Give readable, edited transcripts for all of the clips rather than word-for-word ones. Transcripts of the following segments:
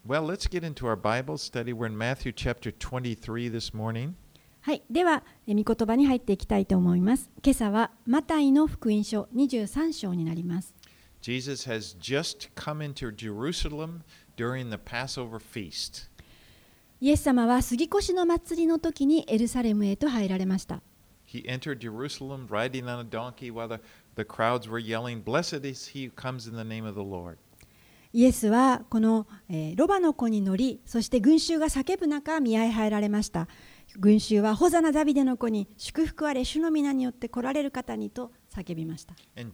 Well, let's get into our Bible study. We're in Matthew chapter 23 this morning. はい、では、御言葉に入っていきたいと思います。今朝はマタイの福音書23章になります。 Jesus has just come into Jerusalem during the Passover feast. イエス様は杉越の祭りの時にエルサレムへと入られました。 He entered Jerusalem riding on a donkey while the crowds were yelling, Blessed is he who comes in the name of the Lord. イエスはこの、ロバの子に乗り、そして群衆が叫ぶ中、見合い入られました。群衆はホザナダビデの子に祝福あれ、主の皆によって来られる方にと叫びました。 And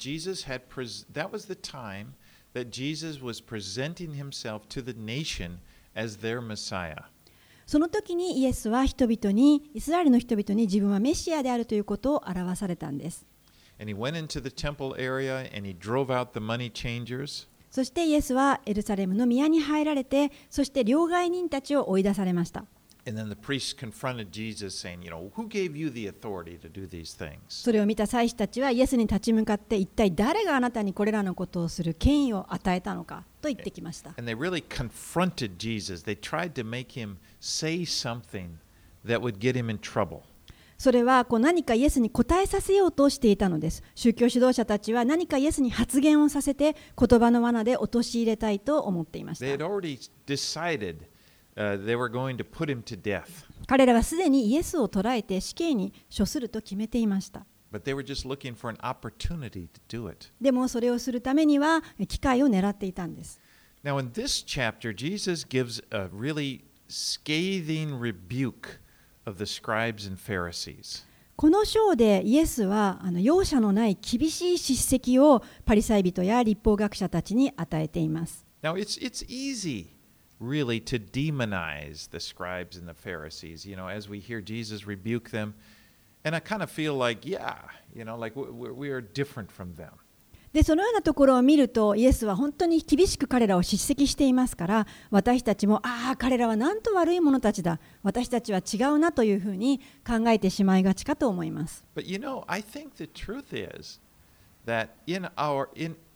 that was the time that Jesus was presenting himself to the nation as their Messiah. その時にイエスは人々に、イスラエルの人々に自分はメシアであるということを表されたんです。 And he went into the temple area and he drove out the money changers. そしてイエスはエルサレムの宮に入られて、そして両替人たちを追い出されました。 And then the priests confronted Jesus saying, who gave you the authority to do these things? それを見た祭司たちはイエスに立ち向かって、一体誰があなたにこれらのことをする権威を与えたのかと言ってきました。 And they really confronted Jesus. They tried to make him say something that would get him in trouble. それは何かイエスに答えさせようとしていたのです。宗教指導者たちは何かイエスに発言をさせて、言葉の罠で陥れたいと思っていました。 They had already decided they were going to put him to death. 彼らはすでにイエスを捕らえて死刑に処すると決めていました。 But they were just looking for an opportunity to do it. でもそれをするためには機会を狙っていたんです。 Now in this chapter, Jesus gives a really scathing rebuke of the scribes and Pharisees. この章でイエスは容赦のない厳しい叱責をパリサイ人や立法学者たちに与えています。 Now it's easy really to demonize the scribes and the Pharisees, as we hear Jesus rebuke them. And I kind of feel like, like we are different from them. でそのようなところを見ると、イエスは本当に厳しく彼らを叱責していますから、私たちも彼らはなんと悪い者たちだ、私たちは違うなというふうに考えてしまいがちかと思います。 But I think the truth is that in our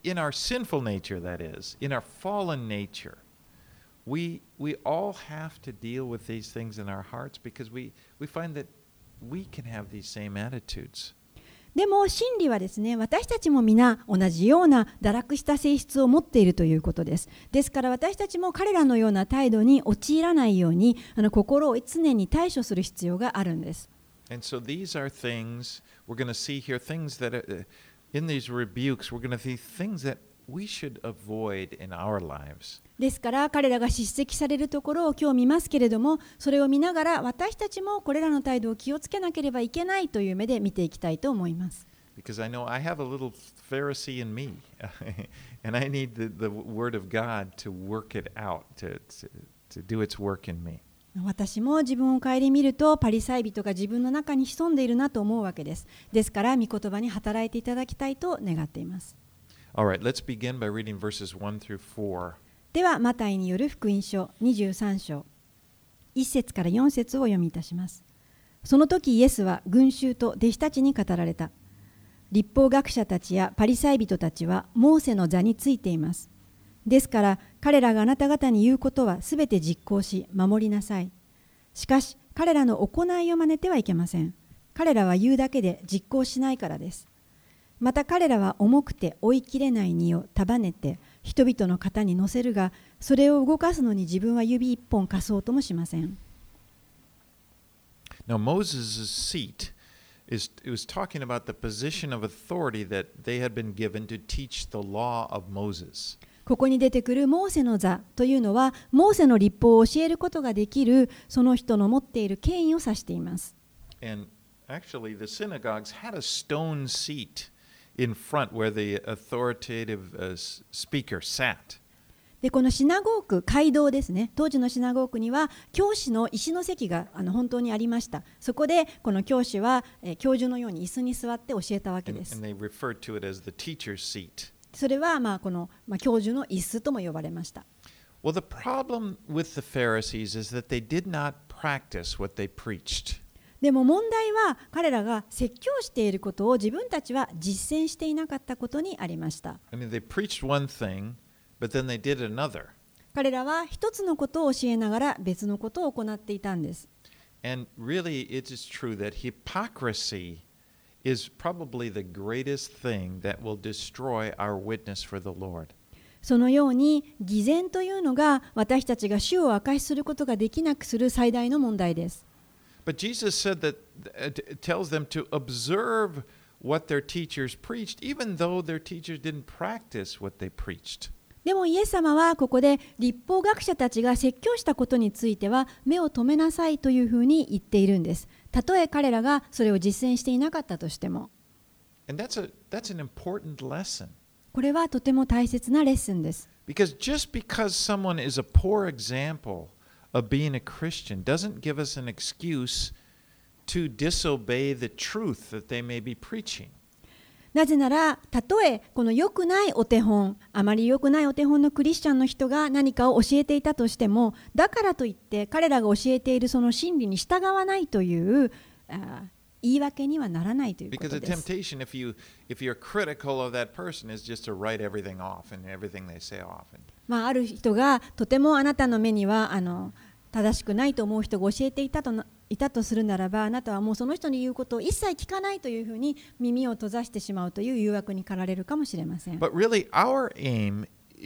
sinful nature, that is, in our fallen nature, we all have to deal with these things in our hearts because we find that we can have these same attitudes. でも真理はですね、私たちも皆同じような堕落した性質を持っているということです。ですから私たちも彼らのような態度に陥らないように、心を常に対処する必要があるんです。 And so these are things we're going to see here, things that in these rebukes, we're going to see things that we should avoid in our lives. ですから彼らが叱責されるところを今日見ますけれども、それを見ながら私たちもこれらの態度を気をつけなければいけないという目で見ていきたいと思います。 Because I know I have a little Pharisee in me, and I need the Word of God to work it out, to do its work in me. 私も自分を顧みるとパリサイ人が自分の中に潜んでいるなと思うわけです。ですから御言葉に働いていただきたいと願っています。 All right, let's begin by reading verses 1 through 4. ではマタイによる福音書23章1節から4節を読みいたします。その時イエスは群衆と弟子たちに語られた。立法学者たちやパリサイ人たちはモーセの座についています。ですから彼らがあなた方に言うことはすべて実行し守りなさい。しかし彼らの行いを真似てはいけません。彼らは言うだけで実行しないからです。また彼らは重くて追いきれない荷を束ねて人々の肩に乗せるが、それを動かすのに自分は指一本貸そうともしません。 Now Moses' seat it was talking about the position of authority that they had been given to teach the law of Moses. ここに出てくるモーセの座というのは、モーセの立法を教えることができるその人の持っている権威を指しています。 And actually the synagogues had a stone seat in front where the authoritative speaker sat. でこのシナゴーク、街道ですね。当時のシナゴークには教師の石の席が本当にありました。そこでこの教師は教授のように椅子に座って教えたわけです。 And they referred to it as the teacher's seat. それはこの教授の椅子とも呼ばれました。 Well, the problem with the Pharisees is that they did not practice what they preached. でも問題は彼らが説教していることを自分たちは実践していなかったことにありました。 I mean, they preached one thing, but then they did another. 彼らは一つのことを教えながら別のことを行っていたんです。 And really, it is true that hypocrisy is probably the greatest thing that will destroy our witness for the Lord. そのように偽善というのが私たちが主を証しすることができなくする最大の問題です。 But Jesus said that tells them to observe what their teachers preached, even though their teachers didn't practice what they preached. でもイエス様はここで律法学者たちが説教したことについては目を留めなさいというふうに言っているんです。たとえ彼らがそれを実践していなかったとしても。 And that's an important lesson. これはとても大切なレッスンです。 Because just because someone is a poor example of being a Christian doesn't give us an excuse to disobey the truth that they may be preaching. なぜなら、たとえこの良くないお手本、あまり良くないお手本のクリスチャンの人が何かを教えていたとしても、だからといって彼らが教えているその真理に従わないという言い訳にはならないということ Because で the す。 temptation, if you're critical of that person, is just to write everything off and everything they say off. ある人がとてもあなたの目には正しくないと思う人が教えていたとするならば、あなたはもうその人に言うことを一切聞かないというふうに耳を閉ざしてしまうという誘惑に駆られるかもしれません。 But really, our aim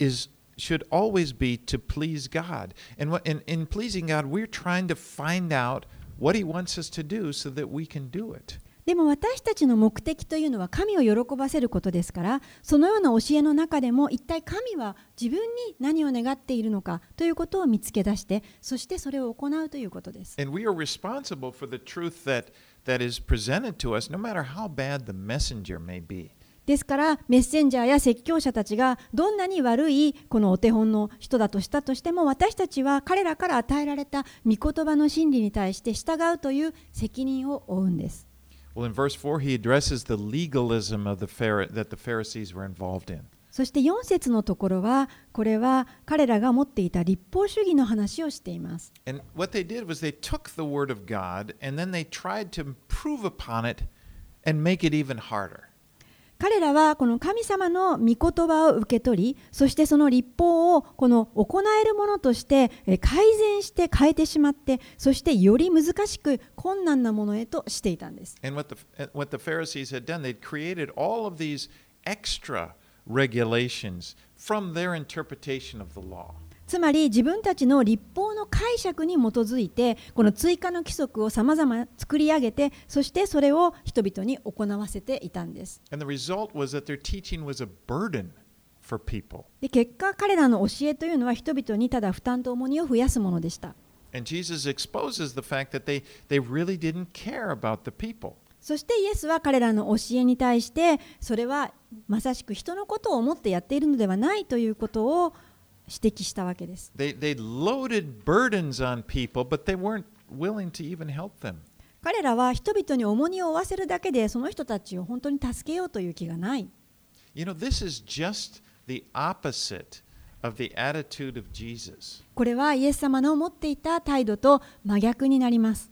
should always be to please God. And in pleasing God, we're trying to find out what He wants us to do so that we can do it. でも私たちの目的というのは神を喜ばせることですから、そのような教えの中でも一体神は自分に何を願っているのかということを見つけ出して、そしてそれを行うということです。 And we are responsible for the truth that is presented to us, no matter how bad the messenger may be. ですからメッセンジャーや説教者たちがどんなに悪いこのお手本の人だとしたとしても、私たちは彼らから与えられた御言葉の真理に対して従うという責任を負うんです。 Well, in verse 4, he addresses the legalism that the Pharisees were involved in. そして4節のところは、これは彼らが持っていた律法主義の話をしています。 And what they did was they took the word of God and then they tried to improve upon it and make it even harder. 彼らはこの神様の御言葉を受け取り、そしてその律法をこの行えるものとして改善して変えてしまって、そしてより難しく困難なものへとしていたんです。 And what the Pharisees had done, they'd created all of these extra regulations from their interpretation of the law. つまり自分たちの律法の解釈に基づいてこの追加の規則をさまざま作り上げて、そしてそれを人々に行わせていたんです。 And the result was that their teaching was a burden for people. で、結果彼らの教えというのは人々にただ負担と重荷を増やすものでした。 And Jesus exposes the fact that they really didn't care about the people. そしてイエスは彼らの教えに対して、それはまさしく人のことを思ってやっているのではないということを指摘したわけです。 They loaded burdens on people, but they weren't willing to even help them. 彼らは人々に重荷を負わせるだけで、その人たちを本当に助けようという気がない。 You know, this is just the opposite of the attitude of Jesus. これはイエス様の持っていた態度と真逆になります。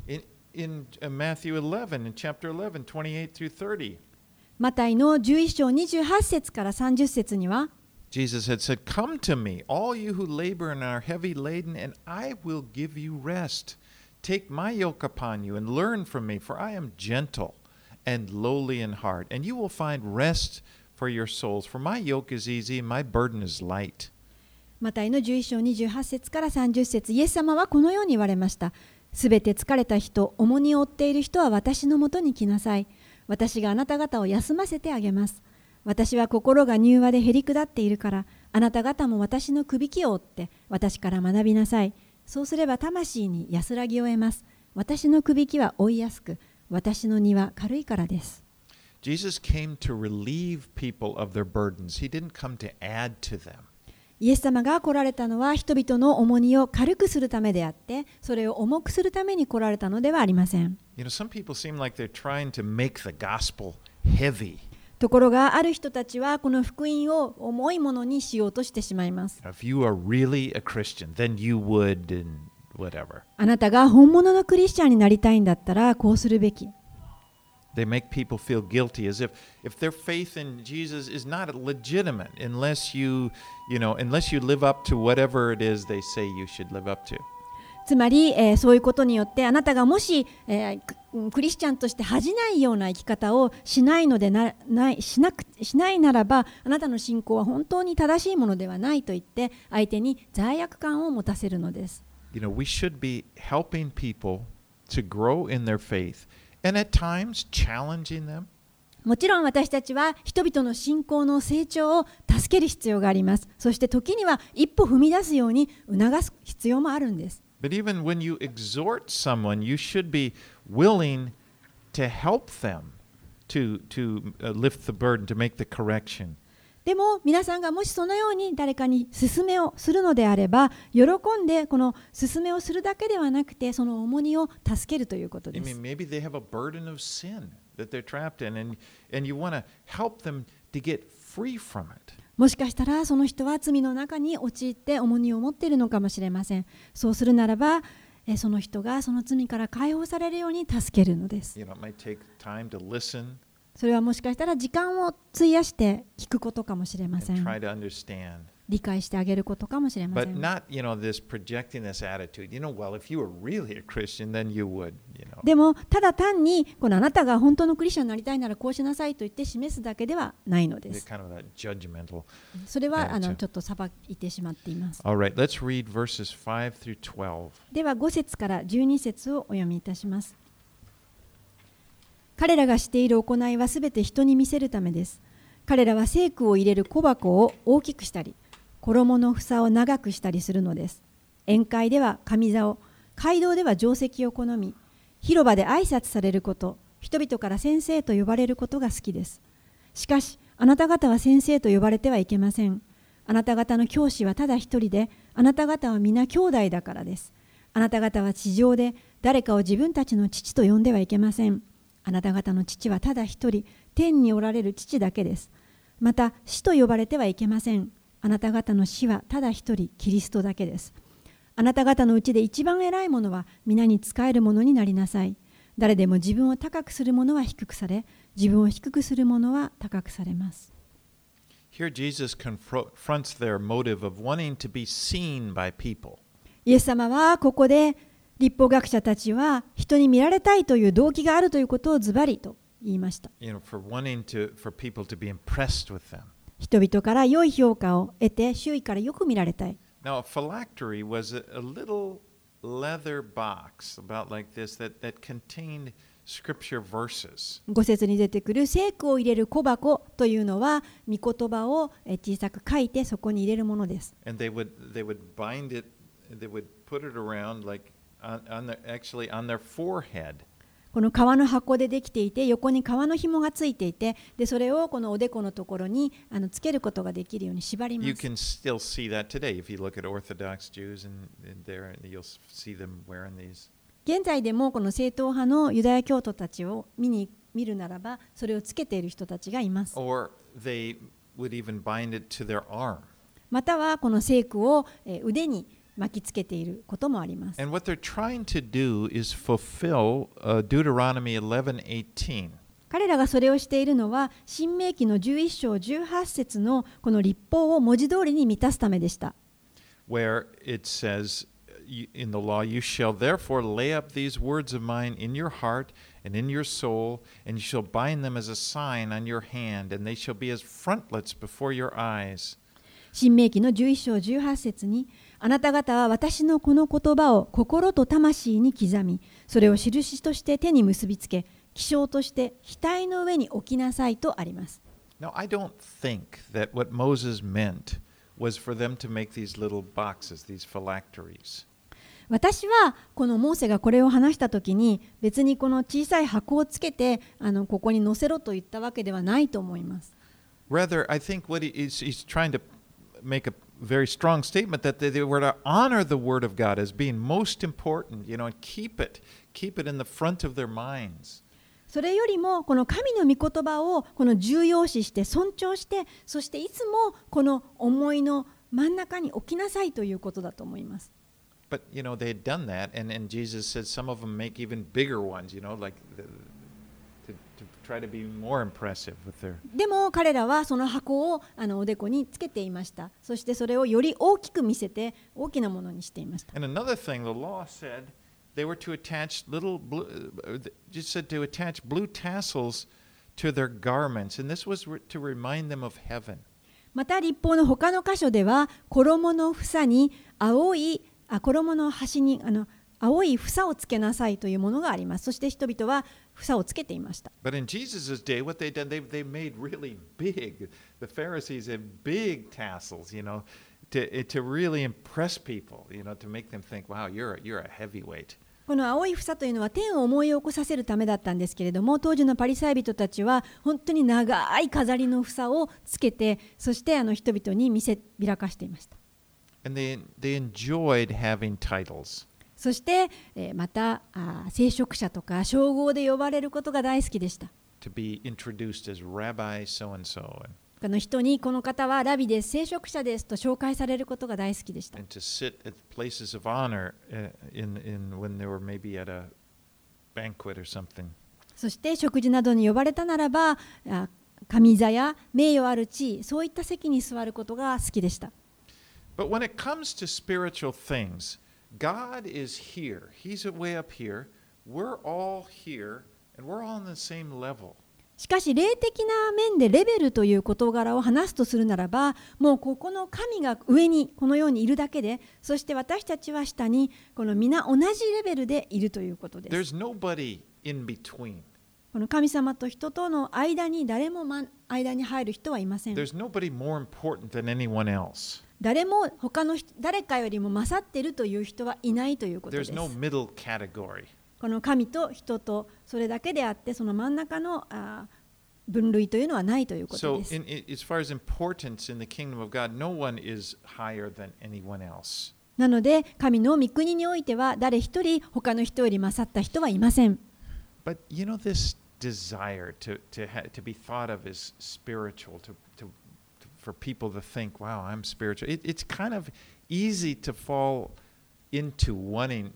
In Matthew 11, in chapter 11, 28 through 30, マタイの11章28節から30節には、 Jesus had said, "Come to me, all you who labor and are heavy laden, and I will give you rest. Take my yoke upon you and learn from me, for I am gentle and lowly in heart, and you will find rest for your souls. For my yoke is easy and my burden is light." マタイの11章28節から30節、イエス様はこのように言われました。すべて疲れた人、重荷を負っている人は私のもとに来なさい。私があなた方を休ませてあげます。私は心が柔和でへり下っているから、あなた方も私のくびきを追って私から学びなさい。そうすれば魂に安らぎを得ます。私のくびきは追いやすく、私の荷は軽いからです。 Jesus came to relieve people of their burdens. He didn't come to add to them. イエス様が来られたのは人々の重荷を軽くするためであって、それを重くするために来られたのではありません。 You know, some people seem like they're trying to make the gospel heavy. ところがある人たちはこの福音を重いものにしようとしてしまいます。 If you are really a Christian, then you would and whatever. あなたが本物のクリスチャンになりたいんだったらこうするべき。 They make people feel guilty as if their faith in Jesus is not legitimate unless unless you live up to whatever it is they say you should live up to. つまり、そういうことによってあなたがもし、クリスチャンとして恥じないような生き方をしないならばあなたの信仰は本当に正しいものではないと言って相手に罪悪感を持たせるのです。 We should be helping people to grow in their faith and at times challenging them. もちろん私たちは人々の信仰の成長を助ける必要があります。そして時には一歩踏み出すように促す必要もあるんです。 But even when you exhort someone, you should be willing to help them to lift the burden, to make the correction. でも皆さんがもしそのように誰かに勧めをするのであれば、喜んでこの勧めをするだけではなくて、その重荷を助けるということです。 Maybe they have a burden of sin that they're trapped in, and you want to help them to get free from it. もしかしたらその人は罪の中に陥って重荷を持っているのかもしれません。そうするならば、その人がその罪から解放されるように助けるのです。 It might take time to listen. それはもしかしたら時間を費やして聞くことかもしれません。 Try to understand. 理解してあげることかもしれません。 But not, this projecting this attitude. Well, if you were really a Christian, then you would, でも、ただ単にこのあなたが本当のクリスチャンになりたいならこうしなさいと言って示すだけではないのです。 Kind of judgmental それはちょっと裁いてしまっています。 All right, let's read verses 5 through 12. では5節から12節をお読みいたします。彼らがしている行いはすべて人に見せるためです。彼らは聖句を入れる小箱を大きくしたり、衣の房を長くしたりするのです。宴会では上座を、街道では定石を好み、広場で挨拶されること、人々から先生と呼ばれることが好きです。しかし、あなた方は先生と呼ばれてはいけません。あなた方の教師はただ一人で、あなた方は皆兄弟だからです。あなた方は地上で誰かを自分たちの父と呼んではいけません。あなた方の父はただ一人、天におられる父だけです。また、師と呼ばれてはいけません。あなた方の師はただ一人、キリストだけです。あなた方のうちで一番偉いものは皆に仕えるものになりなさい。誰でも自分を高くする者は低くされ、自分を低くする者は高くされます。 Here Jesus confronts their motive of wanting to be seen by people. イエス様はここで律法学者たちは人に見られたいという動機があるということをズバリと言いました。 For people to be impressed with them. 人々から良い評価を得て周囲からよく見られたい。 Now, a phylactery was a little leather box about like this that contained scripture verses. 5節に出てくる聖句を入れる小箱というのは御言葉を小さく書いてそこに入れるものです。 And they would bind it, they would put it around like actually on their forehead. この革の箱でできていて横に革の紐がついていてでそれをこのおでこのところにつけることができるように縛ります。 You can still see that today if you look at Orthodox Jews and there you'll see them wearing these. 現在でもこの正統派のユダヤ教徒たちを見るならばそれをつけている人たちがいます。 Or they would even bind it to their arm. またはこの聖句を腕に巻きつけていることもあります。 And what they're trying to do is fulfill Deuteronomy 11:18. 彼らがそれをしているのは、新明記の11章18節のこの律法を文字通りに満たすためでした。 Where it says in the law, you shall therefore lay up these words of mine in your heart and in your soul, and you shall bind them as a sign on your hand, and they shall be as frontlets before your eyes. 新明記の11章18節に、あなた方は私のこの言葉を心と魂に刻み、それを印として手に結びつけ、記章として額の上に置きなさいとあります。 Now, I don't think that what Moses meant was for them to make these little boxes, these phylacteries. 私はこのモーセがこれを話したときに別にこの小さい箱をつけてここに載せろと言ったわけではないと思います。 Rather, I think what he's trying to make a very strong statement that they were to honor the word of God as being most important, and keep it in the front of their minds. それよりもこの神の御言葉をこの重要視して尊重してそしていつもこの思いの真ん中に置きなさいということだと思います。 But they had done that, and Jesus said some of them make even bigger ones, like to try to be more impressive with their. でも彼らはその箱をおでこにつけていました。そしてそれをより大きく見せて大きなものにしていました。 And another thing, the law said they were to attach little blue, just said to attach blue tassels to their garments, and this was to remind them of heaven. また律法の他の箇所では衣の房に衣の端に青い房をつけなさいというものがあります。そして人々は房をつけていました。 But in Jesus' day, what they did, they made really big. The Pharisees had big tassels, to really impress people, to make them think, wow, you're a heavyweight. この青い房というのは天を思い起こさせるためだったんですけれども、当時のパリサイ人たちは本当に長い飾りの房をつけて、そして人々に見せびらかしていました。 And they enjoyed having titles. そして、また聖職者とか称号で呼ばれることが大好きでした。 To be introduced as Rabbi so-and-so. 他の人にこの方はラビです、聖職者ですと紹介されることが大好きでした。 And to sit at places of honor when they were maybe at a banquet or something. そして食事などに呼ばれたならば、上座や名誉ある地位、そういった席に座ることが好きでした。 But when it comes to spiritual things, God is here. He's way up here. We're all here, and we're all on the same level. しかし霊的な面でレベルという事柄を話すとするならば、もうここの神が上にこのようにいるだけで、そして私たちは下にこの皆同じレベルでいるということです。 There's nobody in between. この神様と人との間に誰も間に入る人はいません。 There's nobody more important than anyone else. 誰も誰かよりも勝っているという人はいないということです。 There's no middle category. この神と人とそれだけであって、その真ん中の分類というのはないということです。 So, as far as importance in the kingdom of God, no one is higher than anyone else. なので、神の御国においては誰一人他の人より勝った人はいません。 But this desire to be thought of as spiritual, for people to think, wow, I'm spiritual. It's kind of easy to fall into wanting,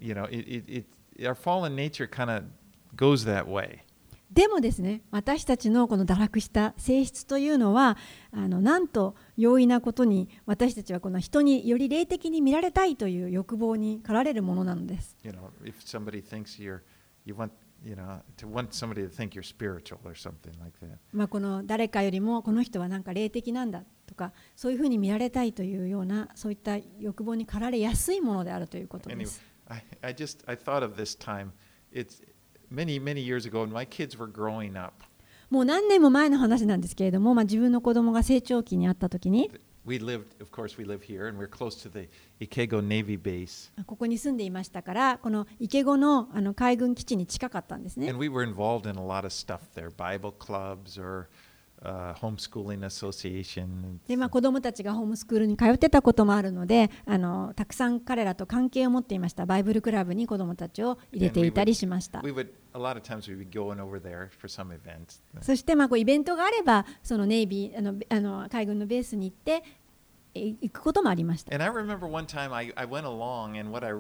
our fallen nature kind of goes that way. でもですね、私たちのこの堕落した性質というのは、なんと容易なことに私たちはこの人により霊的に見られたいという欲望に駆られるものなのです。 If somebody thinks you want to want somebody to think you're spiritual or something like that. この誰かよりもこの人はなんか霊的なんだとか、そういうふうに見られたいというようなそういった欲望に駆られやすいものであるということです。 I thought of this time. It's many years ago when my kids were growing up. もう何年も前の話なんですけれども、自分の子供が成長期にあったときに、 Of course, we live here, and we're close to the Ikego Navy base. ここに住んでいましたから、この池子の海軍基地に近かったんですね。 And we were involved in a lot of stuff there, Bible clubs or homeschooling association. で、子供たちがホームスクールに通ってたこともあるので、たくさん彼らと関係を持っていました。バイブルクラブに子供たちを入れていたりしました。 A lot of times we would go over there for some events. そしてイベントがあれば、そのネイビー海軍のベースに行って行くこともありました。 And I remember one time I went along, and what I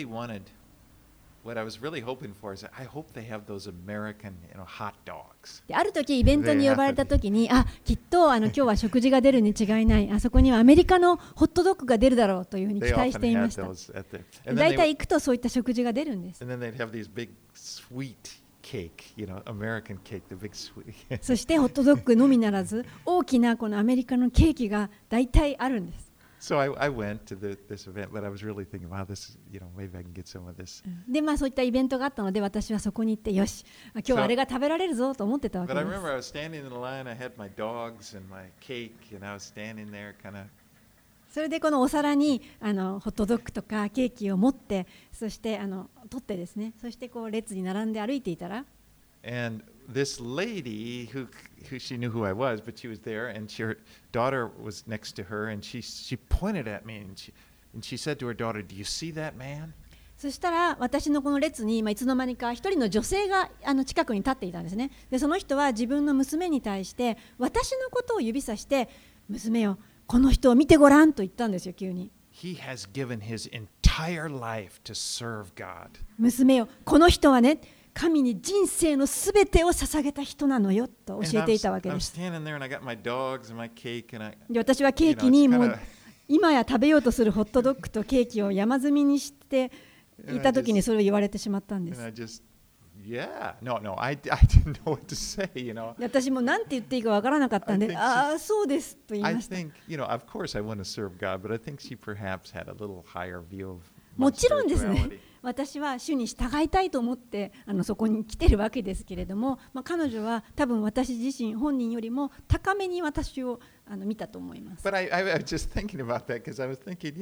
was really hoping for is I hope they have those American, hot dogs. である時イベントに呼ばれた時に、きっと今日は食事が出るに違いない、あそこにはアメリカのホットドッグが出るだろうというふうに期待していました。だいたい行くとそういった食事が出るんです。 And then they'd have these big sweet cake, American cake, the big sweet. そしてホットドッグのみならず大きなこのアメリカのケーキがだいたいあるんです。 So I went to this event, but I was really thinking, wow, this, maybe I can get some of this. で、そういったイベントがあったので、私はそこに行って、よし、今日はあれが食べられるぞと思ってたわけ But で I す。 remember I was standing in the line, I had my dogs and my cake, and I was standing there kind of. それでこのお皿にホットドッグとかケーキを持って、そして取ってですね、そして列に並んで歩いていたら、 And this lady who she knew who I was, but she was there, and her daughter was next to her, and she pointed at me, and she said to her daughter, "Do you see that man?" そしたら私のこの列にいつの間にか一人の女性が近くに立っていたんですね。で、その人は自分の娘に対して私のことを指さして、娘よ、この人を見てごらんと言ったんですよ、急に。 He has given his entire life to serve God. 娘よ、この人はね、 神に人生のすべてを捧げた人なのよと教えていたわけです。で、私はケーキにもう今や食べようとするホットドッグとケーキを山積みにしていたときにそれを言われてしまったんです。私も何て言っていいかわからなかったんで、ああ、そうですと言いました。もちろんですね、私は主に従いたいと思ってそこに来てるわけですけれども、彼女は多分私自身本人よりも高めに私を見たと思います。 But I was just thinking about that because I was thinking,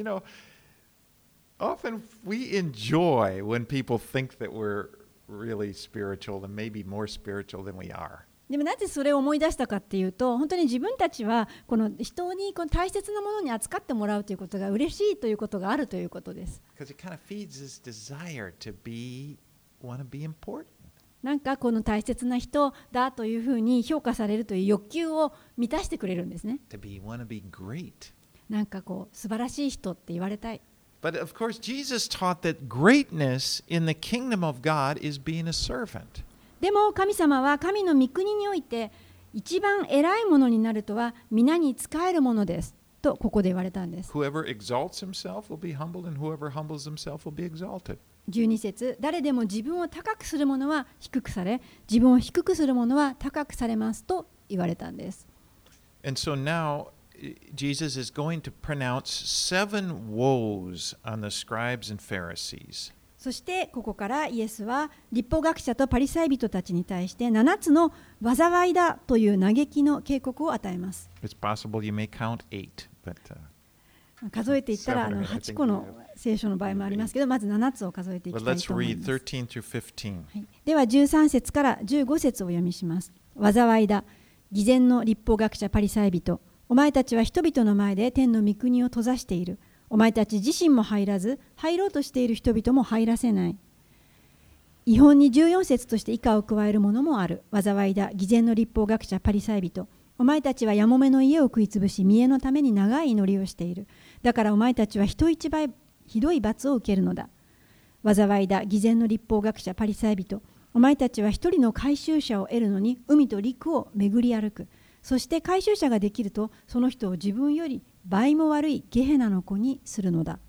often we enjoy when people think that we're really spiritual and maybe more spiritual than we are. でもなぜそれを思い出したかっていうと、本当に自分たちはこの人にこの大切なものに扱ってもらうということが嬉しいということがあるということです。なんかこの大切な人だというふうに評価されるという欲求を満たしてくれるんですね。なんかこう素晴らしい人って言われたい。 But of course, Jesus taught that greatness in the kingdom of God is being a servant. でも神様は神の御国において一番偉いものになるとは皆に仕えるものですとここで言われたんです。 Whoever exalts himself will be humbled, and whoever humbles himself will be exalted. 12節、誰でも自分を高くする者は低くされ、自分を低くする者は高くされますと言われたんです。 And so now Jesus is going to pronounce 7 woes on the scribes and Pharisees. そしてここからイエスは律法学者とパリサイ人たちに対して7つの災いだという嘆きの警告を与えます。 It's possible you may count 8, but, 数えていったら8個の聖書の場合もありますけど、まず7つを数えていきたいと思います。では13節から15節を読みします。災いだ、偽善の律法学者パリサイ人、お前たちは人々の前で天の御国を閉ざしている。お前たち自身も入らず、入ろうとしている人々も入らせない。違法に14節として以下を加えるものもある。災いだ、偽善の律法学者パリサイ人。お前たちはやもめの家を食いつぶし、見栄のために長い祈りをしている。だからお前たちは人一倍ひどい罰を受けるのだ。災いだ、偽善の律法学者パリサイ人。お前たちは一人の回収者を得るのに海と陸を巡り歩く。そして回収者ができると、その人を自分より倍も悪いゲヘナの子にするのだ。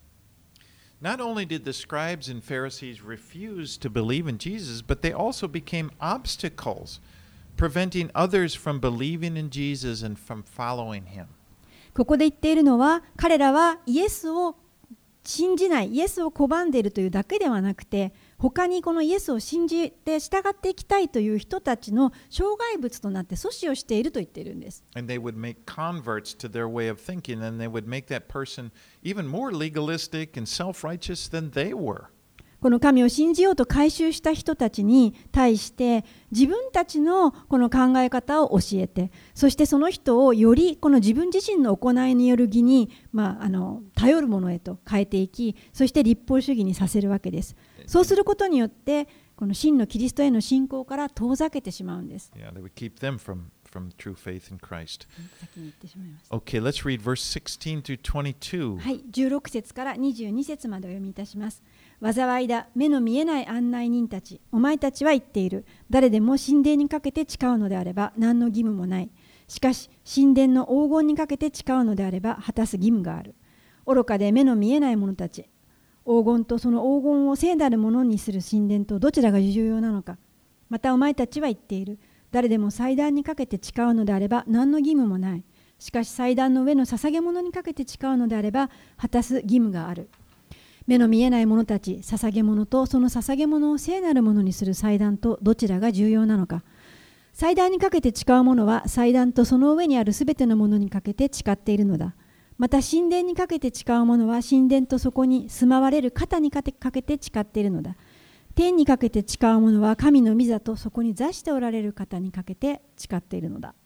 Not only did the scribes and Pharisees refuse to believe in Jesus, but they also became obstacles, preventing others from believing in Jesus and from following him. ここで言っているのは、彼らはイエスを信じない、イエスを拒んでいるというだけではなくて、他にこのイエスを信じて従っていきたいという人たちの障害物となって阻止をしていると言っているんです。 And they would make converts to their way of thinking, and they would make that person even more legalistic and self-righteous than they were. この神を信じようと改宗した人たちに対して自分たちのこの考え方を教えて、そしてその人をよりこの自分自身の行いによる義に、頼るものへと変えていき、そして律法主義にさせるわけです。そうすることによってこの真のキリストへの信仰から遠ざけてしまうんです。 Yeah, they would keep them from true faith in Christ. 先に言ってしまいました。 Okay, let's read verse 16 through 22. はい、16節から22節までお読みいたします。災いだ、目の見えない案内人たち、お前たちは言っている。誰でも神殿にかけて誓うのであれば何の義務もない。しかし神殿の黄金にかけて誓うのであれば果たす義務がある。愚かで目の見えない者たち、黄金とその黄金を聖なるものにする神殿とどちらが重要なのか。またお前たちは言っている。誰でも祭壇にかけて誓うのであれば何の義務もない。しかし祭壇の上の捧げ物にかけて誓うのであれば果たす義務がある。目の見えない者たち、捧げ物とその捧げ物を聖なるものにする祭壇とどちらが重要なのか。祭壇にかけて誓うものは祭壇とその上にあるすべてのものにかけて誓っているのだ。また神殿にかけて誓うものは神殿とそこに住まわれる方にかけて誓っているのだ。天にかけて誓うものは神の御座とそこに座しておられる方にかけて誓っているのだ。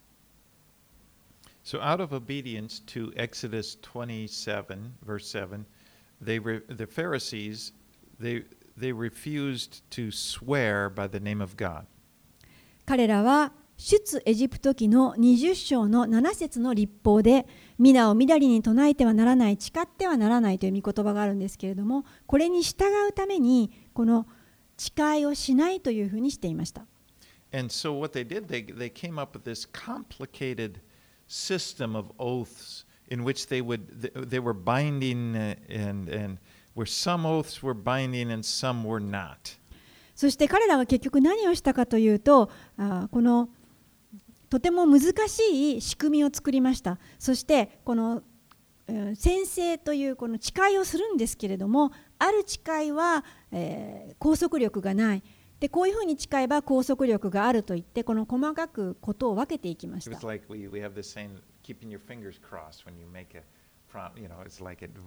So out of obedience to Exodus 27, verse 7, the Pharisees, they refused to swear by the name of God. 彼らは出エジプト記の20章の7節の律法で皆をみだりに唱えてはならない、誓ってはならないという御言葉があるんですけれども、これに従うためにこの誓いをしないというふうにしていました。 And so what they did, they came up with this complicated system of oaths in which they were binding and where some oaths were binding and some were not. そして彼らは結局何をしたかというと、このとても難しい仕組みを作りました。そしてこの宣誓というこの誓いをするんですけれども、ある誓いは、拘束力がない。でこういうふうに誓えば拘束力があると言って、この細かくことを分けていきました。 It was like we have this saying, keeping your fingers crossed when you make a promise. You know, it's like it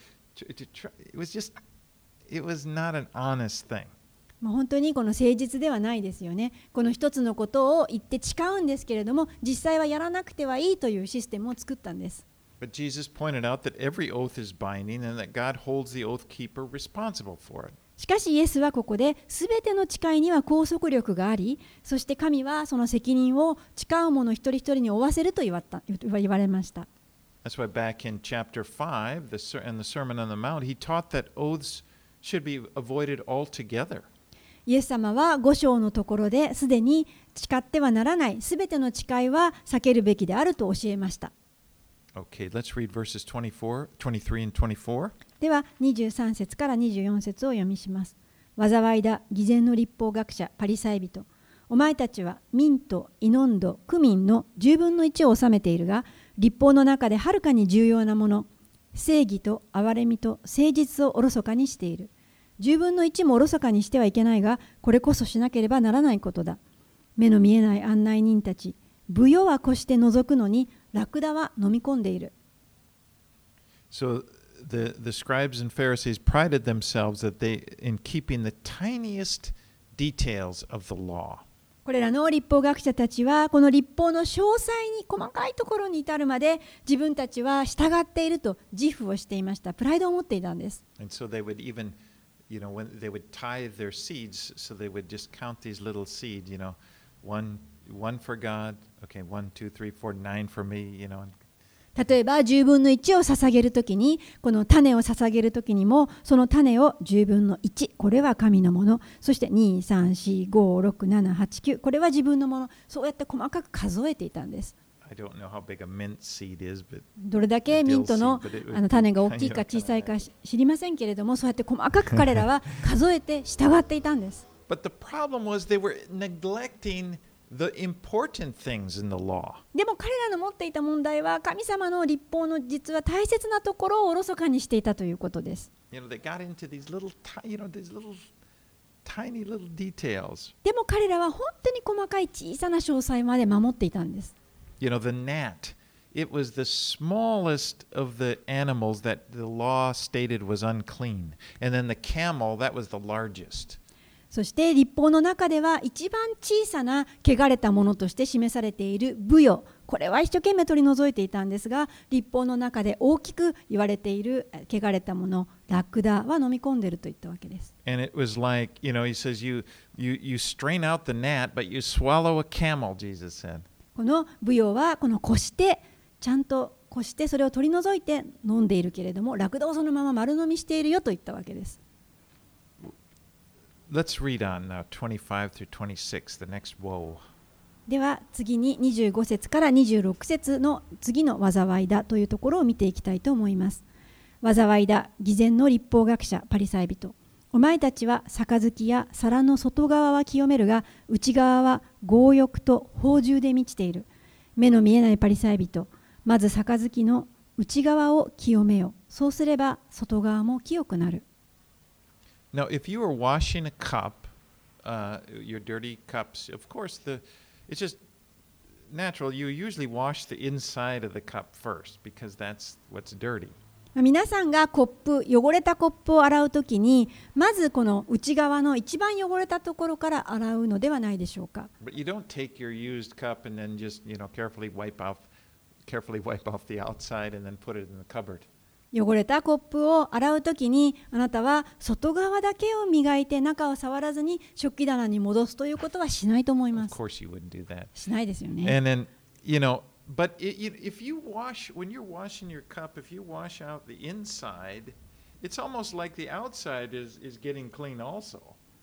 was just, it was not an honest thing. 本当にこの誠実ではないですよね。この一つのことを言って誓うんですけれども、実際はやらなくてはいいというシステムを作ったんです。 But Jesus pointed out that every oath is binding and that God holds the oath keeper responsible for it. しかしイエスはここで全ての誓いには拘束力があり、そして神はその責任を誓う者一人一人に負わせると言われました。 That's why back in chapter 5 in the Sermon on the Mount, he taught that oaths should be avoided altogether. イエス様は5章のところですでに誓ってはならない全ての誓いは避けるべきであると教えました。 Okay, let's read verses 23 and 24. では23節から24節を読みします。災いだ、偽善の立法学者、パリサイ人。お前たちはミント、イノンド、クミンの10分の1を治めているが、立法の中ではるかに重要なもの、正義と憐れみと誠実をおろそかにしている。10分の1もおろそかにしてはいけないが、これこそしなければならないことだ。目の見えない案内人たち、ブヨは越して覗くのに、ラクダは飲み込んでいる。 So the scribes and Pharisees prided themselves in keeping the tiniest details of the law. これらの立法学者たちはこの立法の詳細に細かいところに至るまで自分たちは従っていると自負をしていました。プライドを持っていたんです。 And so they would even, when they would tithe their seeds, so they would just count these little seeds, one for God, okay, 1, 2, 3, 4, 9 for me, 例えば10分の1を捧げるときに、この種を捧げるときにも、その種を10分の1、これは神のもの、そして2、3、4、5、6、7、8、9、これは自分のもの、そうやって細かく数えていたんです。どれだけミントの種が大きいか小さいか知りませんけれども、そうやって細かく彼らは数えて従っていたんです。 But the problem was they were neglecting the important things in the law. でも彼らの持っていた問題は神様の律法の実は大切なところをおろそかにしていたということです。 They got into these little tiny little details. でも彼らは本当に細かい小さな詳細まで守っていたんです。 The gnat, it was the smallest of the animals that the law stated was unclean. And then the camel, that was the largest. そして律法の中では一番小さな汚れたものとして示されているブヨ、これは一生懸命取り除いていたんですが、律法の中で大きく言われている汚れたもの、ラクダは飲み込んでいるといったわけです。 And it was like, he says, you strain out the gnat, but you swallow a camel, Jesus said. このブヨはこのこしてちゃんとこしてそれを取り除いて飲んでいるけれども、ラクダをそのまま丸飲みしているよと言ったわけです。 Let's read on now, 25 through 26, the next woe. では次に25節から26節の次の災いだというところを見ていきたいと思います。災いだ、偽善の律法学者、パリサイ人。お前たちは杯や皿の外側は清めるが、内側は強欲と放縦で満ちている。目の見えないパリサイ人。まず杯の内側を清めよ。そうすれば外側も清くなる。 Now, if you are washing a cup, your dirty cups, of course, it's just natural. You usually wash the inside of the cup first because that's what's dirty. 皆さんが汚れたコップを洗うときに、まずこの内側の一番汚れたところから洗うのではないでしょうか。 But you don't take your used cup and then just, carefully wipe off the outside and then put it in the cupboard. 汚れたコップを洗うときに、あなたは外側だけを磨いて中を触らずに食器棚に戻すということはしないと思います。 Of course you wouldn't do that. しないですよね。 And then, but if you when you're washing your cup, if you wash out the inside, it's almost like the outside is getting clean also.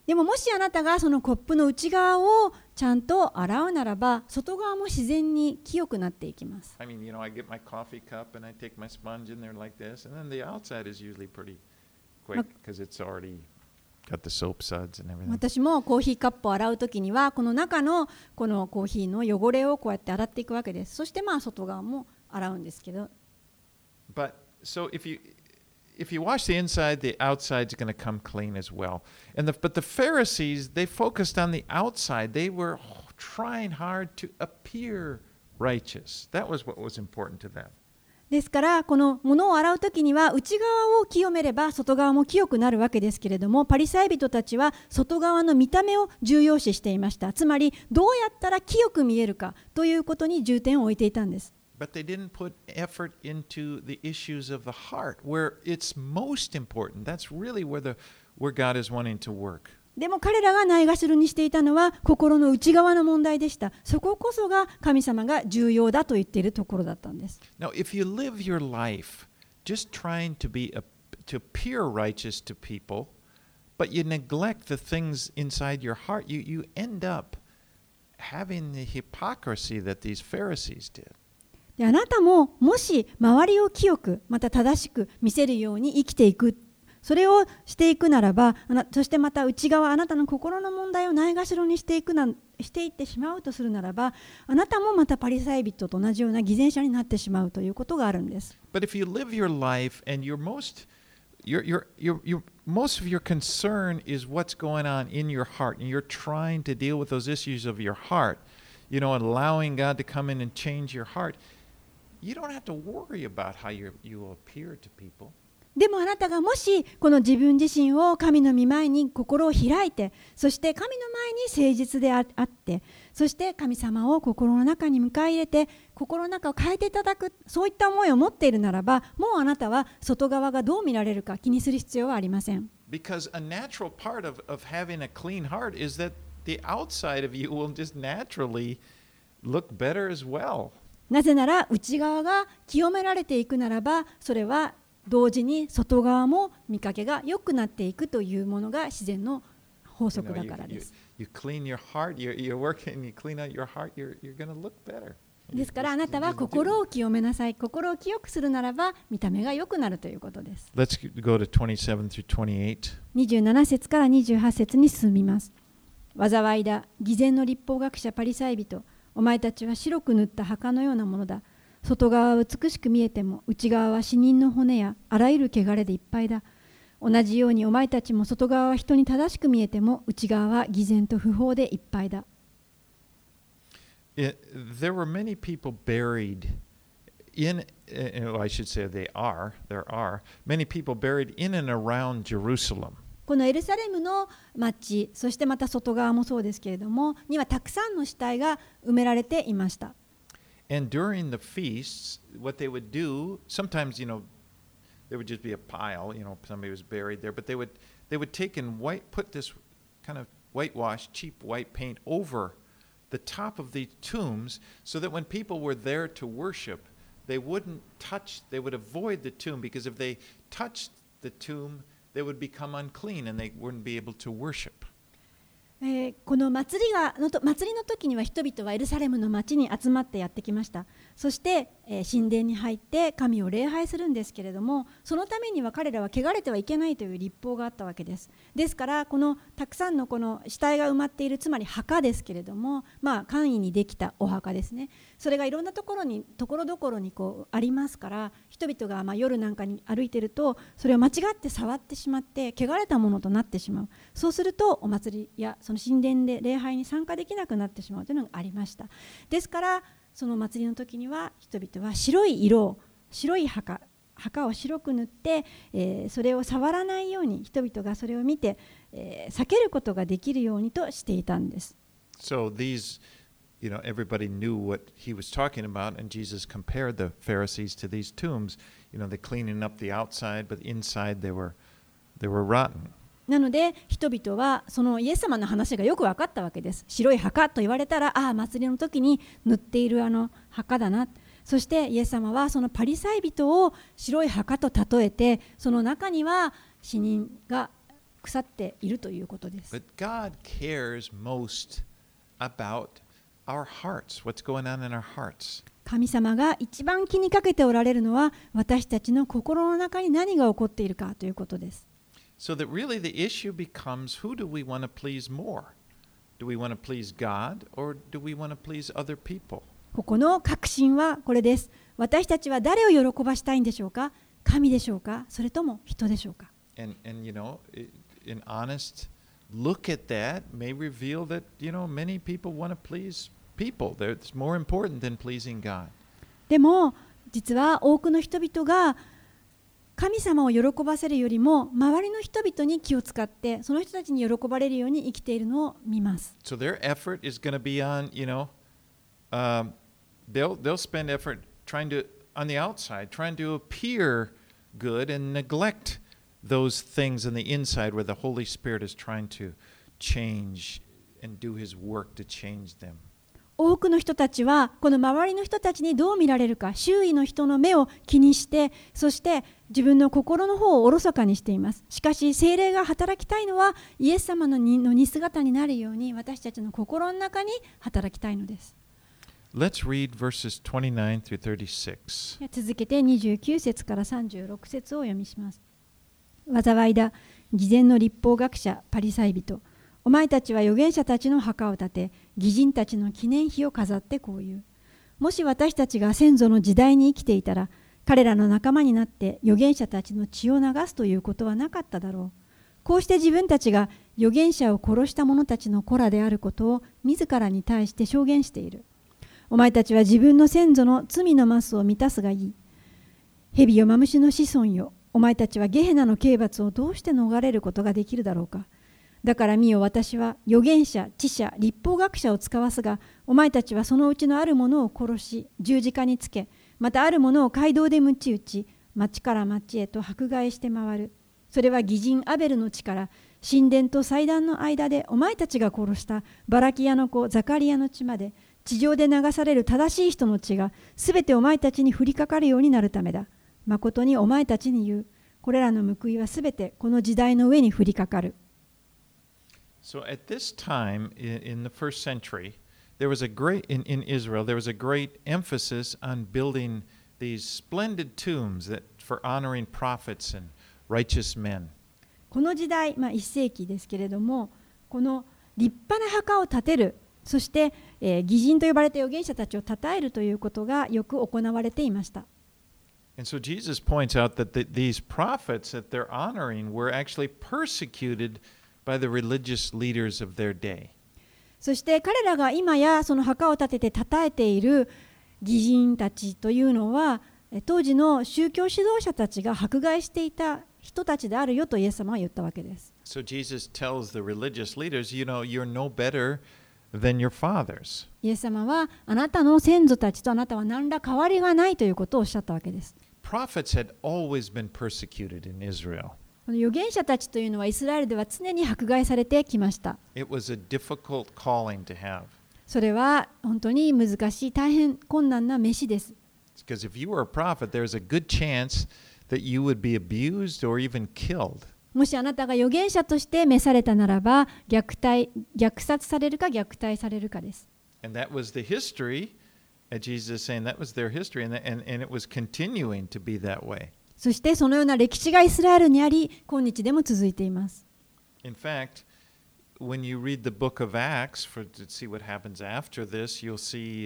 でももしあなたがそのコップの内側をちゃんと洗うならば、外側も自然に清くなっていきます。 I mean, I get my coffee cup and I take my sponge in there like this, and then the outside is usually pretty quick because it's already got the soap suds and everything. 私もコーヒーカップを洗うときには、この中のこのコーヒーの汚れをこうやって洗っていくわけです。そして外側も洗うんですけど。 But so if you wash the inside, the outside's going to come clean as well. But the Pharisees, they focused on the outside. They were trying hard to appear righteous. That was what was important to them. ですからこの物を洗うときには内側を清めれば外側も清くなるわけですけれども、パリサイ人たちは外側の見た目を重要視していました。つまりどうやったら清く見えるかということに重点を置いていたんです。 But they didn't put effort into the issues of the heart, where it's most important. That's really where God is wanting to work. でも彼らがないがしろにしていたのは心の内側の問題でした。そここそが神様が重要だと言っているところだったんです。 Now, if you live your life just trying to appear righteous to people, but you neglect the things inside your heart, you end up having the hypocrisy that these Pharisees did. であなたももし周りを清くまた正しく見せるように生きていく、それをしていくならば、そしてまた内側あなたの心の問題をないがしろにしていってしまうとするならば、あなたもまたパリサイ人と同じような偽善者になってしまうということがあるんです。 But if you live your life and most of your concern is what's going on in your heart, and you're trying to deal with those issues of your heart, allowing God to come in and change your heart.You don't have to worry about how you will appear to people. でもあなたがもしこの自分自身を神の御前に心を開いて、そして神の前に誠実であって、そして神様を心の中に迎え入れて心の中を変えていただく、そういった思いを持っているならば、もうあなたは外側がどう見られるか気にする必要はありません。 Because a natural part of having a clean heart is that the outside of you will just naturally look better as well. なぜなら内側が清められていくならば、それは同時に外側も見かけが良くなっていくというものが自然の法則だからです。ですからあなたは心を清めなさい。心を清くするならば見た目が良くなるということです。 Let's go to 27 through 28. 27節から28節に進みます。災いだ、偽善の立法学者パリサイ人。お前たちは白く塗った墓のようなものだ。外側は美しく見えても、内側は死人の骨やあらゆる汚れでいっぱいだ。同じようにお前たちも外側は人に正しく見えても、内側は偽善と不法でいっぱいだ。 There were many people buried in, I should say there are many people buried in and around Jerusalem. このエルサレムの町、そしてまた外側もそうですけれども、にはたくさんの死体が埋められていました。 And during the feasts, what they would do, sometimes, there would just be a pile, somebody was buried there, but they would take and put this kind of whitewash, cheap white paint over the top of the tombs so that when people were there to worship, they would avoid the tomb, because if they touched the tomb,they would become unclean and they wouldn't be able to worship. この祭りの時には人々はエルサレムの町に集まってやってきました。そして、神殿に入って神を礼拝するんですけれども、そのためには彼らは汚れてはいけないという立法があったわけです。ですからこのたくさんのこの死体が埋まっている、つまり墓ですけれども、簡易にできたお墓ですね。それがいろんなところどころにこうありますから、人々が夜なんかに歩いているとそれを間違って触ってしまって汚れたものとなってしまう。そうするとお祭りやその神殿で礼拝に参加できなくなってしまうというのがありました。ですからその祭りの時には人々は白い墓を白く塗って、それを触らないように、人々がそれを見て、避けることができるようにとしていたんです。 So everybody knew what he was talking about, and Jesus compared the Pharisees to these tombs. They're cleaning up the outside, but inside they were rotten. なので人々はそのイエス様の話がよく分かったわけです。白い墓と言われたら、祭りの時に塗っているあの墓だな。そしてイエス様はそのパリサイ人を白い墓と例えて、その中には死人が腐っているということです。 But God cares most about our hearts, what's going on in our hearts. 神様が一番気にかけておられるのは私たちの心の中に何が起こっているかということです。 So that really the issue becomes, who do we want to please more? Do we want to please God or do we want to please other people? ここの確信はこれです。私たちは誰を喜ばしたいんでしょうか？神でしょうか？それとも人でしょうか？ And an honest look at that may reveal that, many people want to please people. It's more important than pleasing God. でも実は多くの人々が神様を喜ばせるよりも周りの人々に気を使ってその人たちに喜ばれるように生きているのを見ます。 So their effort is going to be on, they'll spend effort on the outside, trying to appear good and neglect those things in the inside where the Holy Spirit is trying to change and do His work to change them. 多くの人たちはこの周りの人たちにどう見られるか、周囲の人の目を気にして、そして自分の心の方をおろそかにしています。しかし聖霊が働きたいのはイエス様の似姿になるように私たちの心の中に働きたいのです。 Let's read verses 29 through 36. 続けて29節から36節をお読みします。災いだ、偽善の律法学者パリサイ人。お前たちは預言者たちの墓を建て、義人たちの記念碑を飾ってこう言う。もし私たちが先祖の時代に生きていたら、彼らの仲間になって預言者たちの血を流すということはなかっただろう。こうして自分たちが預言者を殺した者たちの子らであることを自らに対して証言している。お前たちは自分の先祖の罪のマスを満たすがいい。蛇よマムシの子孫よ。お前たちはゲヘナの刑罰をどうして逃れることができるだろうか。だから見よ、私は預言者、知者、律法学者を使わすが、お前たちはそのうちのあるものを殺し、十字架につけ、またあるものを街道で鞭打ち、町から町へと迫害して回る。それは義人アベルの地から、神殿と祭壇の間でお前たちが殺したバラキアの子ザカリアの地まで、地上で流される正しい人の血がすべてお前たちに降りかかるようになるためだ。まことにお前たちに言う。これらの報いはすべてこの時代の上に降りかかる。 So at this time in the first century, there was a great in Israel, there was a great emphasis on building these splendid tombs that for honoring prophets and righteous men. この時代、1世紀ですけれども、この立派な墓を建てる、そして、義人と呼ばれた預言者たちを称えるということがよく行われていました。 And so Jesus points out that these prophets that they're honoring were actually persecuted by the religious leaders of their day. そして彼らが今やその墓を建てて称えている義人たちというのは、当時の宗教指導者たちが迫害していた人たちであるよとイエス様は言ったわけです。 So Jesus tells the religious leaders, you're no better than your fathers. イエス様はあなたの先祖たちとあなたは何ら変わりがないということをおっしゃったわけです。 Prophets had always been persecuted in Israel. この預言者たちというのはイスラエルでは常に迫害されてきました。 It was a difficult calling to have. それは本当に難しい、大変困難な召しです。 Because if you were a prophet, there's a good chance that you would be abused or even killed. もしあなたが預言者として召されたならば、虐殺されるか虐待されるかです。 And that was the history, Jesus is saying that was their history, and it was continuing to be that way. そしてそのような歴史がイスラエルにあり、今日でも続いています。 In fact, when you read the book of Acts to see what happens after this, you'll see,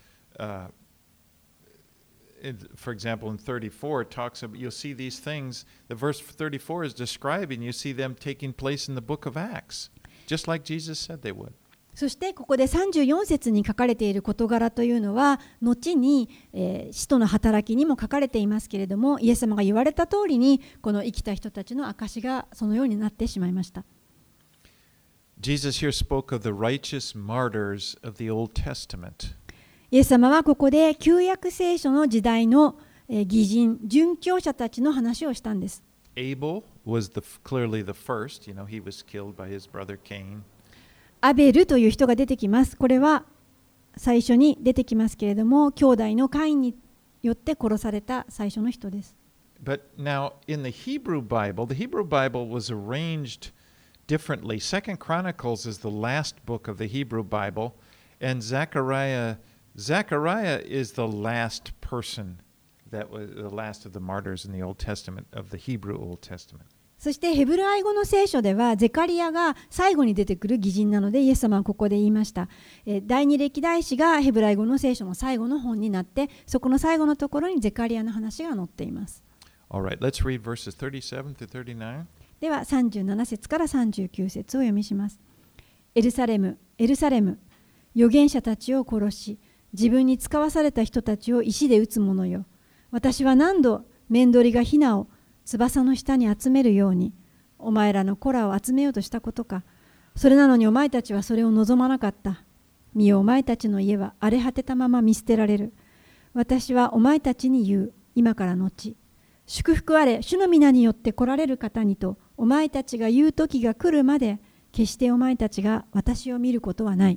for example, in 34, it talks about, you'll see these things. The verse 34 is describing, you see them taking place in the book of Acts, just like Jesus said they would. そしてここで34節に書かれている事柄というのは後に、使徒の働きにも書かれていますけれども、イエス様が言われた通りにこの生きた人たちの証がそのようになってしまいました。 Jesus here spoke of the righteous martyrs of the Old Testament. イエス様はここで旧約聖書の時代の義人、殉教者たちの話をしたんです。 Abel was clearly the first. He was killed by his brother Cain. アベルという人が出てきます。これは最初に出てきますけれども、兄弟のカインによって殺された最初の人です。 But now in the Hebrew Bible was arranged differently. Second Chronicles is the last book of the Hebrew Bible, and Zechariah is the last person that was the last of the martyrs in the Old Testament, of the Hebrew Old Testament. そしてヘブライ語の聖書ではゼカリアが最後に出てくる義人なのでイエス様はここで言いました。第二歴代史がヘブライ語の聖書の最後の本になって、そこの最後のところにゼカリアの話が載っています。 Alright, let's read verses 37 to 39. では37節から39節を読みします。エルサレム、エルサレム、預言者たちを殺し、自分に使わされた人たちを石で撃つ者よ。私は何度面取りがヒナを翼の下に集めるようにお前らの子らを集めようとしたことか。それなのにお前たちはそれを望まなかった。見よ、お前たちの家は荒れ果てたまま見捨てられる。私はお前たちに言う。今から後、祝福あれ、主の皆によって来られる方にとお前たちが言う時が来るまで、決してお前たちが私を見ることはない。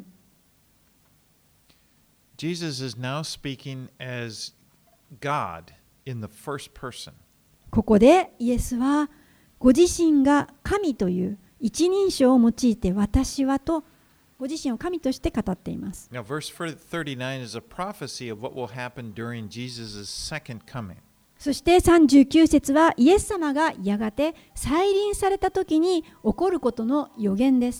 Jesus is now speaking as God in the first person. ここでイエスはご自身が神という一人称を用いて私はとご自身を神として語っています。 Now, verse 39 is a prophecy of what will happen during Jesus' second coming. そして39節はイエス様がやがて再臨された時に起こることの予言です。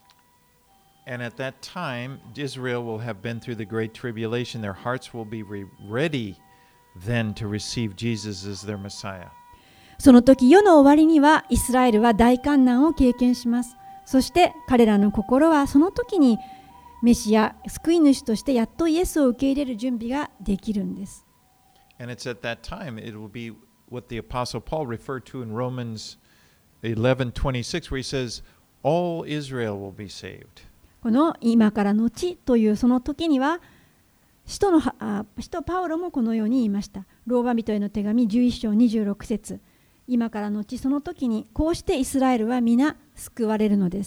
And at that time, Israel will have been through the great tribulation. Their hearts will be ready then to receive Jesus as their Messiah. その時世の終わりにはイスラエルは大患難を経験します。そして彼らの心はその時にメシア、救い主としてやっとイエスを受け入れる準備ができるんです。 And it's at that time it will be what the Apostle Paul referred to in Romans 11:26, where he says, "All Israel will be saved." この今から後というその時には使徒パウロもこのように言いました。ローマ人への手紙11章26節。今から後その時にこうしてイスラエルは皆救われるのです。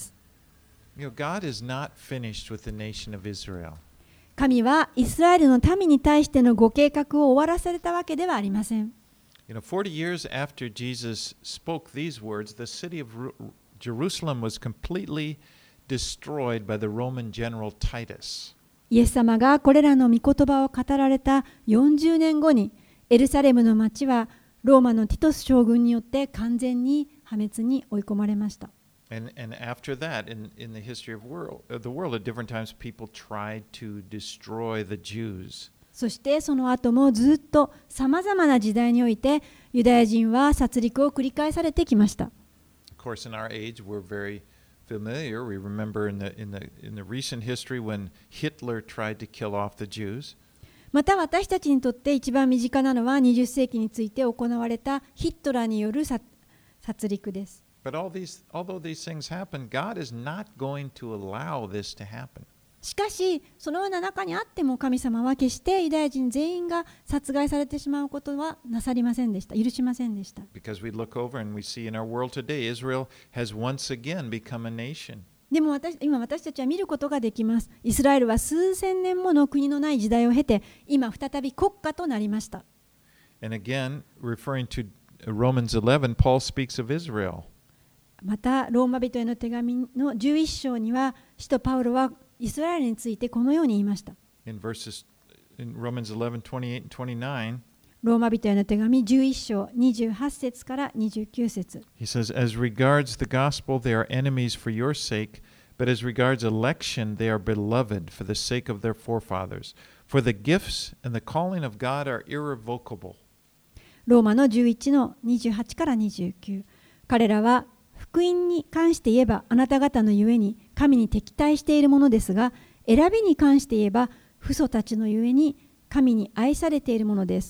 God is not finished with the nation of Israel. 神はイスラエルの民に対してのご計画を終わらせたわけではありません。 40 years after Jesus spoke these words, the city of Jerusalem was completely destroyed by the Roman general Titus. イエス様がこれらの御言葉を語られた40年後にエルサレムの町はローマのティトス将軍によって完全に破滅に追い込まれました。 And after that, in the history of the world, at different times, people tried to destroy the Jews. そしてその後もずっとさまざまな時代においてユダヤ人は殺戮を繰り返されてきました。 Of course, in our age, we're very familiar. We remember in the recent history when Hitler tried to kill off the Jews. また私たちにとって一番身近なのは20世紀について行われたヒットラーによる殺戮です。 But although these things happen, God is not going to allow this to happen. しかし、そのような中にあっても神様は決してユダヤ人全員が殺害されてしまうことはなさりませんでした。許しませんでした。 Because we look over and we see in our world today, Israel has once again become a nation. でも今私たちは見ることができます。イスラエルは数千年もの国のない時代を経て、今再び国家となりました。 And again, referring to Romans 11, Paul speaks of Israel. また、ローマ人への手紙の11章には、使徒パウロはイスラエルについてこのように言いました。 In Romans 11:28 and 29, ローマ人への手紙11章28節から29節。 he says, "As regards the gospel, they are enemies for your sake, but as regards election, they are beloved for the sake of their forefathers. For the gifts and the calling of God are irrevocable." ローマの11の28から29。彼らは福音に関して言えばあなた方のゆえに神に敵対しているものですが、選びに関して言えば父祖たちのゆえに神に愛されているものです。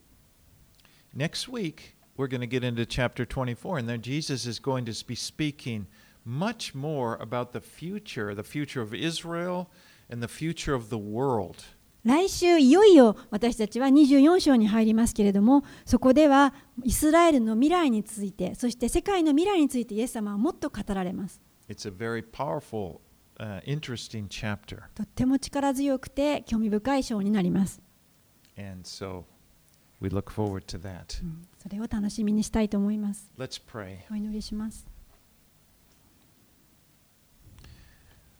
Next week, we're going to get into chapter 24, and then Jesus is going to be speaking much more about the future of Israel and the future of the world. 来週いよいよ私たちは24章に入りますけれども、そこではイスラエルの未来について、そして世界の未来についてイエス様はもっと語られます。 It's a very powerful, interesting chapter. とっても力強くて興味深い章になります。 And so we look forward to that. それを楽しみにしたいと思います。 Let's pray. お祈りします。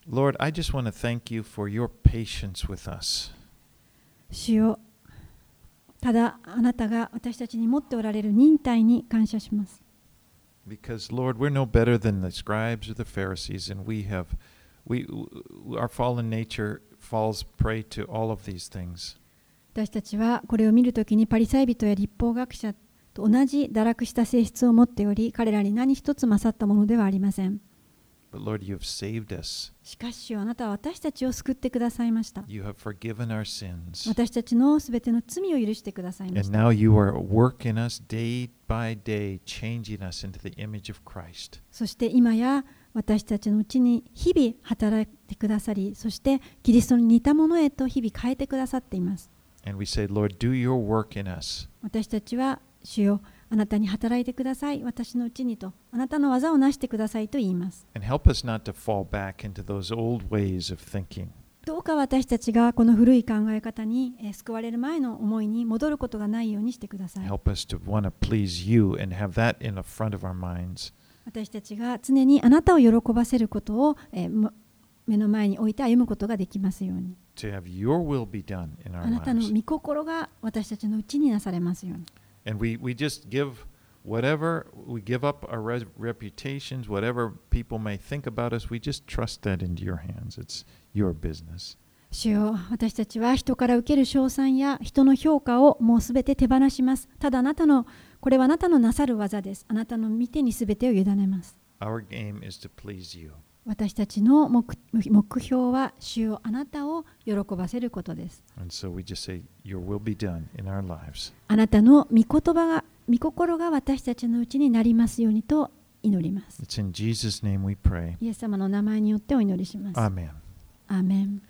Lord, I just want to thank you for your patience with us. 主よ、ただあなたが私たちに持っておられる忍耐に感謝します。 Because, Lord, we're no better than the scribes or the Pharisees, and our fallen nature falls prey to all of these things. 私たちはこれを見るときにパリサイ人や律法学者と同じ堕落した性質を持っており、彼らに何一つ勝ったものではありません。 But Lord, you have saved us. しかし、あなたは私たちを救ってくださいました。 You have forgiven our sins. 私たちのすべての罪を許してくださいまし And た。 now you are working us day by day, changing us into the image of Christ. そして今や私たちのうちに日々働いてくださり、そしてキリストに似たものへと日々変えてくださっています。 And we say, Lord, do your work in us. 私たちは、主よ、あなたに働いてください、私のうちにと、あなたの技をなしてくださいと言います。 And help us not to fall back into those old ways of thinking. どうか私たちがこの古い考え方に救われる前の思いに戻ることがないようにしてください。 Help us to want to please you and have that in the front of our minds. 私たちが常にあなたを喜ばせることを目の前に置いて歩むことができますように。 To have your will be done in あ our なたの lives. 御心が私たちのうちになされますように。 And we just give whatever, we give up our reputations, whatever people may think about us, we just trust that into your hands. It's your business. 主よ、私たちは人から受ける称賛や人の評価をもうすべて手放します。ただこれはあなたのなさる技です。あなたの御手にすべてを委ねます。 Our aim is to please you. 私たちの目標は、主よ、あなたを喜ばせることです。 And so we just say, your will be done in our lives. あなたの御心が私たちのうちになりますようにと祈ります。 It's in Jesus' name we pray. イエス様の名前によってお祈りします。 Amen. アーメン。